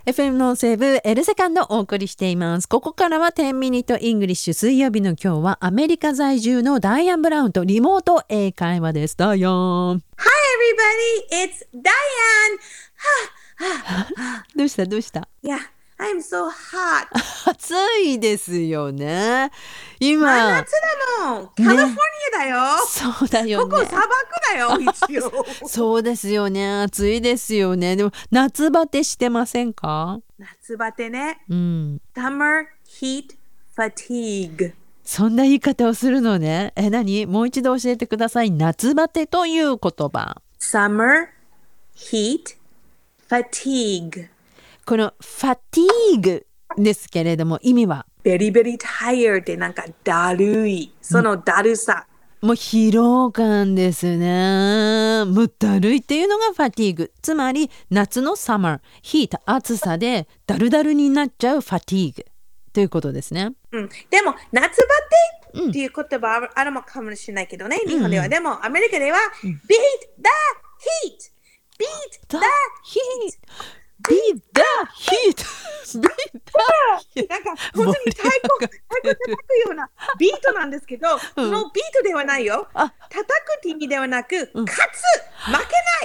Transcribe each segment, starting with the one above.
FM の西部エルセカンドをお送りしています。ここからは10ミニットイングリッシュ。水曜日の今日はアメリカ在住のダイアン・ブラウンとリモート英会話です。ダイアン。 Hi everybody, it's Diane. どうした Yeah, I'm so hot. 暑いですよね。今。 真夏だもん。カリフォルニアだよ。 そうだよね。 ここ砂漠だよ、一応。 そうですよね。暑いですよね。でも夏バテしてませんか？ 夏バテね。 Summer heat fatigue. そんな言い方をするのね。何？もう一度教えてください。夏バテという言葉。 Summer heat fatigue. この fatigue ですけれども意味は very tired でなんかだるい。そのだるさ。 もう疲労感ですね。もうだるいっていうのがファティーグ。つまり夏のサマー、ヒート、暑さでだるだるになっちゃうファティーグということですね。 でも夏バテっていう言葉あるかもしれないけどね、日本では。でもアメリカでは、beat the heat! beat the heat!Beat the heat! なんか本当に太鼓叩くようなビートなんですけど、そのビートではないよ。叩くって意味ではなく、勝つ、負けない。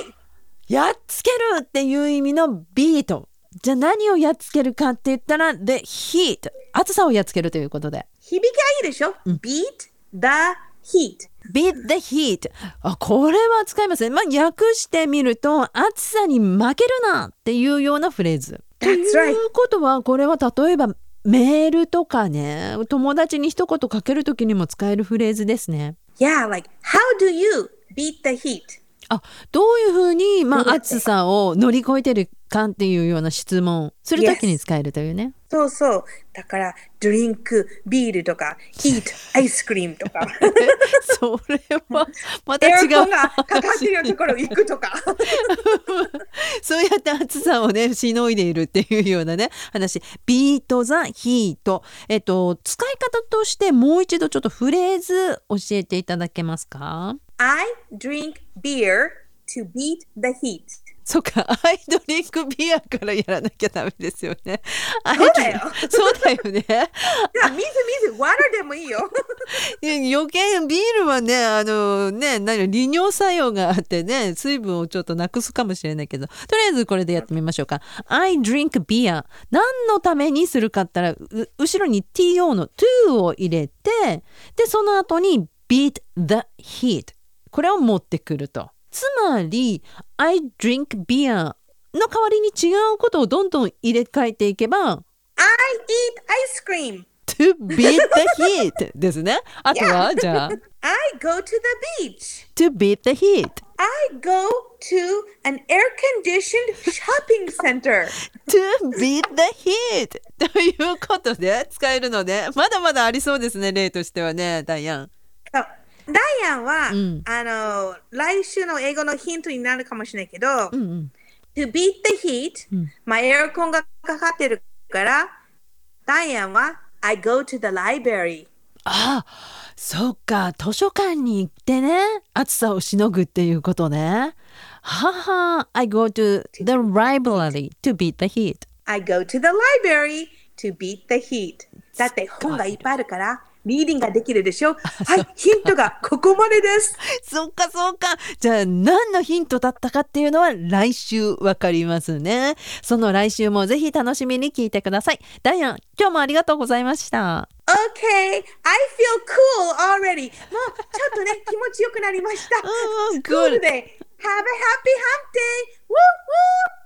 やっつけるっていう意味のビート。じゃあ何をやっつけるかって言ったら、the heat。暑さをやっつけるということで。 響きがいいでしょ、beat the heat。beat the heat。これは使いますね。訳してみると、暑さに負けるなっていうようなフレーズ。 That's right。 ということは、これは例えばメールとかね、友達に一言かけるときにも使えるフレーズですね。 Yeah, like, how do you beat the heat? どういうふうに、暑さを乗り越えてるかっていうような質問するときに使えるというね。 そうそう。だから、ドリンク、ビールとか、ヒート、アイスクリームとか。 それはまた違う。 エアコンがかかってるところ行くとか。 そうやって暑さをね、しのいでいるっていうようなね、話。ビート・ザ・ヒート。使い方としてもう一度ちょっとフレーズ教えていただけますか？ I drink beer to beat the heat. そうか、アイドリンクビアからやらなきゃダメですよね。 そうだよ。 そうだよね。 いや、水、ワタでもいいよ。 余計ビールはね、利尿作用があってね、水分をちょっとなくすかもしれないけど、とりあえずこれでやってみましょうか。I drink beer。何のためにするかって言ったら、後ろに to の to を入れて、で、その後に beat the heat。これを持ってくると。つまり I drink beer の代わりに違うことをどんどん入れ替えていけば I eat ice cream to beat the heat ですね。あとは、じゃあ I go to the beach to beat the heat I go to an air-conditioned shopping center to beat the heat ということで使えるので、まだまだありそうですね、例としてはね、ダイアン。 ダイアンは、来週の英語のヒントになるかもしれないけど、to beat the heat、エアコンがかかってるから、ダイアンは I go to the library。 そうか、図書館に行ってね、暑さをしのぐっていうことね。I go to the library to beat the heat。 I go to the library to beat the heat。だって本がいっぱいあるから、リーディングができるでしょ。はい、ヒントがここまでです。 そうか。じゃあ何のヒントだったかっていうのは来週わかりますね。その来週もぜひ楽しみに聞いてください。ダイアン、今日もありがとうございました。 Okay, I feel cool already. もうちょっとね、気持ちよくなりました。 Good. Have a happy hump day. Woo woo!